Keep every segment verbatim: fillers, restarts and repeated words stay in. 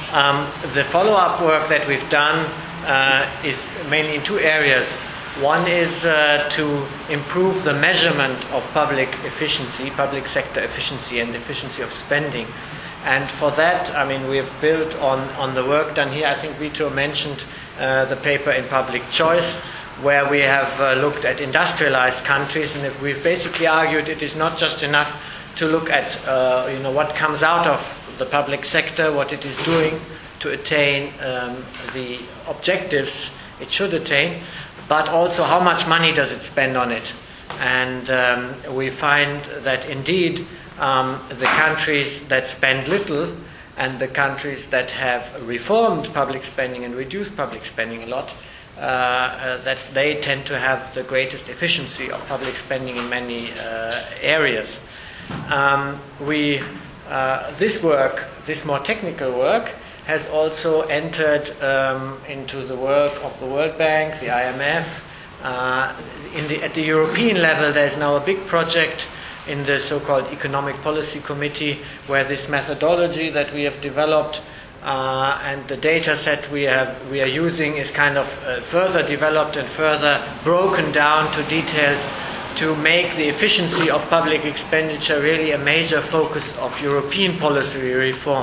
Um, the follow-up work that we've done uh, is mainly in two areas. One is uh, to improve the measurement of public efficiency, public sector efficiency and efficiency of spending. And for that, I mean, we have built on, on the work done here. I think Vito mentioned uh, the paper in Public Choice, where we have uh, looked at industrialized countries, and if we've basically argued it is not just enough to look at uh, you know, what comes out of the public sector, what it is doing to attain um, the objectives it should attain, but also how much money does it spend on it. And um, we find that indeed um, the countries that spend little and the countries that have reformed public spending and reduced public spending a lot, uh, uh, that they tend to have the greatest efficiency of public spending in many uh, areas. Um, we, uh, this work, this more technical work, has also entered um, into the work of the World Bank, the I M F. Uh, in the, at the European level, there is now a big project in the so-called Economic Policy Committee, where this methodology that we have developed uh, and the data set we have we are using is kind of uh, further developed and further broken down to details to make the efficiency of public expenditure really a major focus of European policy reform.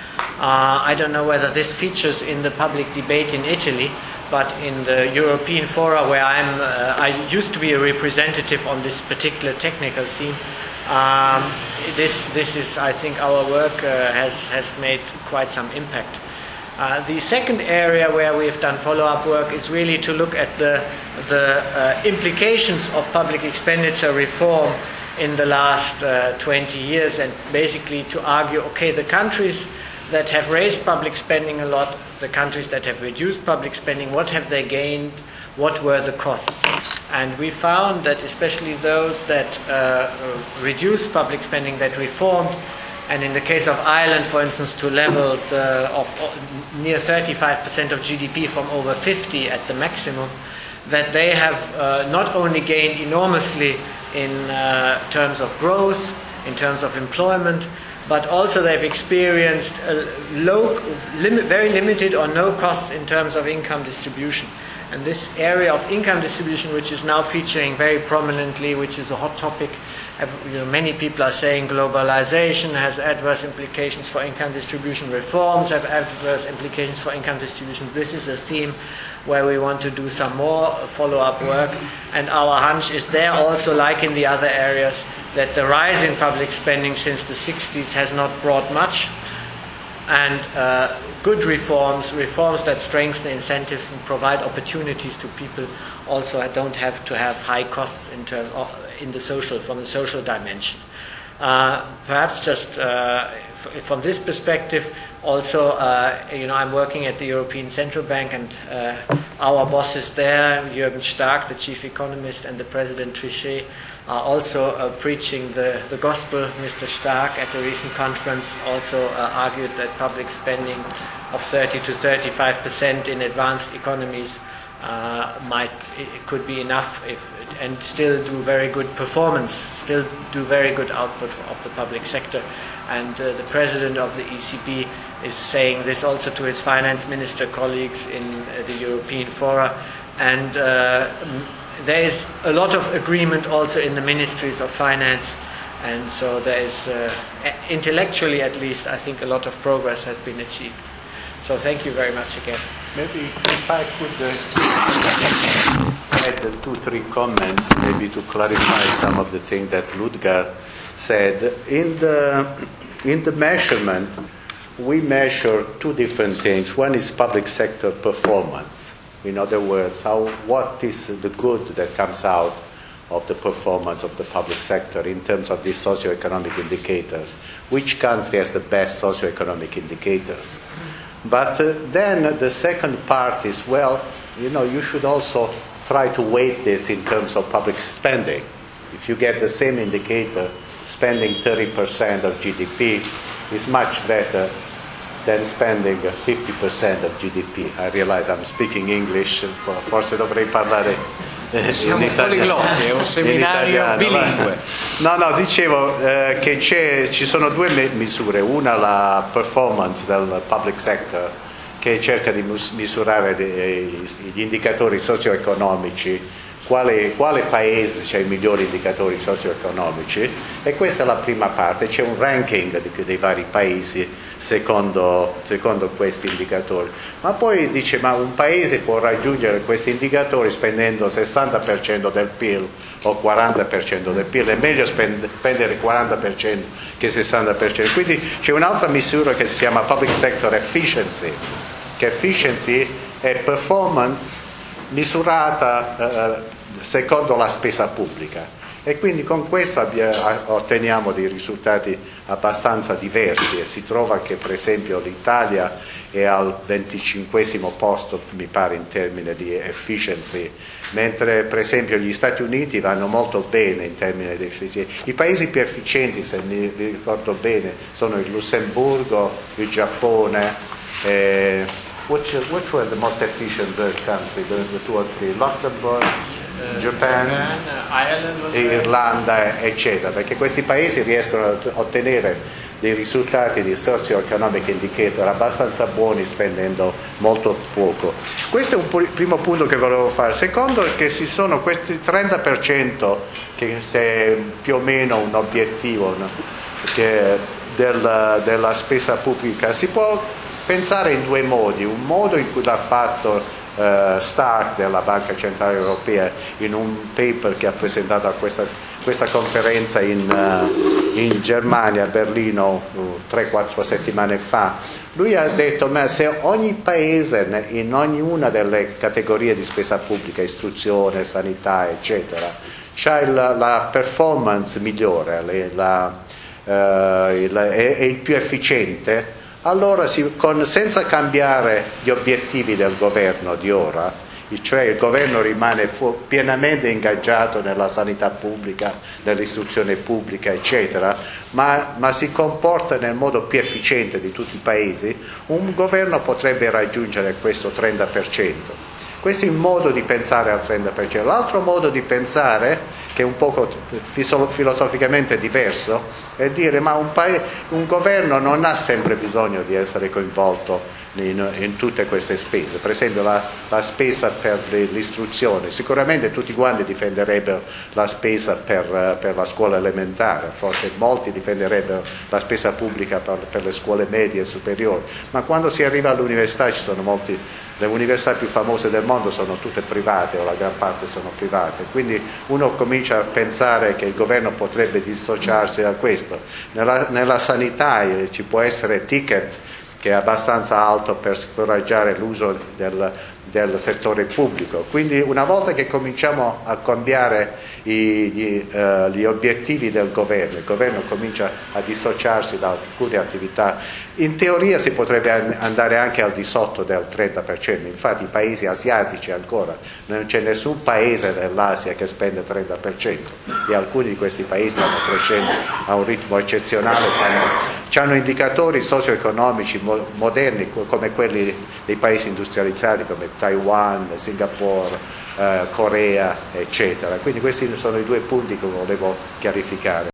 Uh, I don't know whether this features in the public debate in Italy, but in the European fora where I'm, uh, I used to be a representative on this particular technical theme. Um, this, this is, I think, our work uh, has has made quite some impact. Uh, the second area where we've done follow-up work is really to look at the the uh, implications of public expenditure reform in the last uh, twenty years, and basically to argue, okay, the countries that have raised public spending a lot, the countries that have reduced public spending, what have they gained, what were the costs? And we found that especially those that uh, reduced public spending, that reformed, and in the case of Ireland, for instance, to levels uh, of near thirty-five percent of G D P from over fifty at the maximum, that they have uh, not only gained enormously in uh, terms of growth, in terms of employment, but also they've experienced a low, lim- very limited or no costs in terms of income distribution. And this area of income distribution, which is now featuring very prominently, which is a hot topic, you know, many people are saying globalization has adverse implications for income distribution, reforms have adverse implications for income distribution. This is a theme where we want to do some more follow-up work, and our hunch is there also, like in the other areas, that the rise in public spending since the sixties has not brought much, and uh, good reforms, reforms that strengthen incentives and provide opportunities to people, also don't have to have high costs in terms of, in the social, from the social dimension. Uh, perhaps just uh, f- from this perspective, also, uh, you know, I'm working at the European Central Bank, and uh, our bosses there, Jürgen Stark, the chief economist, and the President Trichet, are also uh, preaching the, the gospel. Mister Stark, at a recent conference, also uh, argued that public spending of thirty to thirty-five percent in advanced economies uh, might it could be enough, if and still do very good performance, still do very good output of the public sector. And uh, the president of the E C B is saying this also to his finance minister colleagues in uh, the European fora. And uh, there is a lot of agreement also in the ministries of finance, and so there is, uh, intellectually at least, I think a lot of progress has been achieved. So thank you very much again. Maybe if I could uh, add two, three comments, maybe to clarify some of the things that Ludger said. In the, in the measurement, we measure two different things. One is public sector performance. In other words, how, what is the good that comes out of the performance of the public sector in terms of these socioeconomic indicators? Which country has the best socioeconomic indicators? But uh, then the second part is, well, you know, you should also try to weight this in terms of public spending. If you get the same indicator, spending thirty percent of G D P is much better than spending fifty percent of G D P. I realize I'm speaking English, forse dovrei parlare eh, Siamo in italiano. poliglotti, è un seminario bilingue. No, no, dicevo eh, che c'è, ci sono due misure, una la performance del public sector che cerca di misurare gli indicatori socio-economici, quale, quale paese ha i migliori indicatori socio-economici, e questa è la prima parte, c'è un ranking di, dei vari paesi secondo, secondo questi indicatori. Ma poi dice, ma un paese può raggiungere questi indicatori spendendo sessanta per cento del P I L o quaranta per cento del P I L, è meglio spendere quaranta per cento che sessanta per cento. Quindi c'è un'altra misura che si chiama Public Sector Efficiency, che efficiency è performance misurata eh, secondo la spesa pubblica, e quindi con questo abbia, otteniamo dei risultati abbastanza diversi, e si trova che per esempio l'Italia è al venticinquesimo posto, mi pare, in termini di efficiency, mentre per esempio gli Stati Uniti vanno molto bene in termini di efficiency. I paesi più efficienti, se mi ricordo bene, sono il Lussemburgo, il Giappone, eh, which, which were the most efficient country, the, the two or three, Luxembourg, Japan, Japan, Ireland, Irlanda, eccetera, perché questi paesi riescono a ottenere dei risultati di socio-economic indicator abbastanza buoni spendendo molto poco. Questo è un primo punto che volevo fare. Secondo è che ci sono questi trenta per cento che è più o meno un obiettivo, no? che della, della spesa pubblica. Si può pensare in due modi: un modo in cui l'ha fatto Uh, Stark della Banca Centrale Europea in un paper che ha presentato a questa, questa conferenza in, uh, in Germania, a Berlino, uh, tre quattro settimane fa. Lui ha detto, ma se ogni paese in ognuna delle categorie di spesa pubblica, istruzione, sanità, eccetera, c'ha il, la performance migliore, la, uh, il, è, è il più efficiente, allora si, con, senza cambiare gli obiettivi del governo di ora, cioè il governo rimane fu, pienamente ingaggiato nella sanità pubblica, nell'istruzione pubblica, eccetera, ma, ma si comporta nel modo più efficiente di tutti i paesi, un governo potrebbe raggiungere questo trenta per cento. Questo è un modo di pensare al trenta per cento. L'altro modo di pensare, che è un poco filosoficamente diverso, è dire ma un, paese, un governo non ha sempre bisogno di essere coinvolto in, in tutte queste spese. Per esempio la, la spesa per l'istruzione, sicuramente tutti quanti difenderebbero la spesa per, per la scuola elementare, forse molti difenderebbero la spesa pubblica per, per le scuole medie e superiori, ma quando si arriva all'università ci sono molti, le università più famose del mondo sono tutte private, o la gran parte sono private, quindi uno comincia a pensare che il governo potrebbe dissociarsi da questo. Nella, nella sanità eh, ci può essere ticket che è abbastanza alto per scoraggiare l'uso del, del settore pubblico. Quindi una volta che cominciamo a cambiare i, gli, uh, gli obiettivi del governo, il governo comincia a dissociarsi da alcune attività, in teoria si potrebbe andare anche al di sotto del trenta per cento. Infatti i paesi asiatici ancora, non c'è nessun paese dell'Asia che spende il trenta per cento, e alcuni di questi paesi stanno crescendo a un ritmo eccezionale, hanno indicatori socio-economici mo- moderni come quelli dei paesi industrializzati come Taiwan, Singapore, eh, Corea, eccetera. Quindi questi sono i due punti che volevo chiarificare.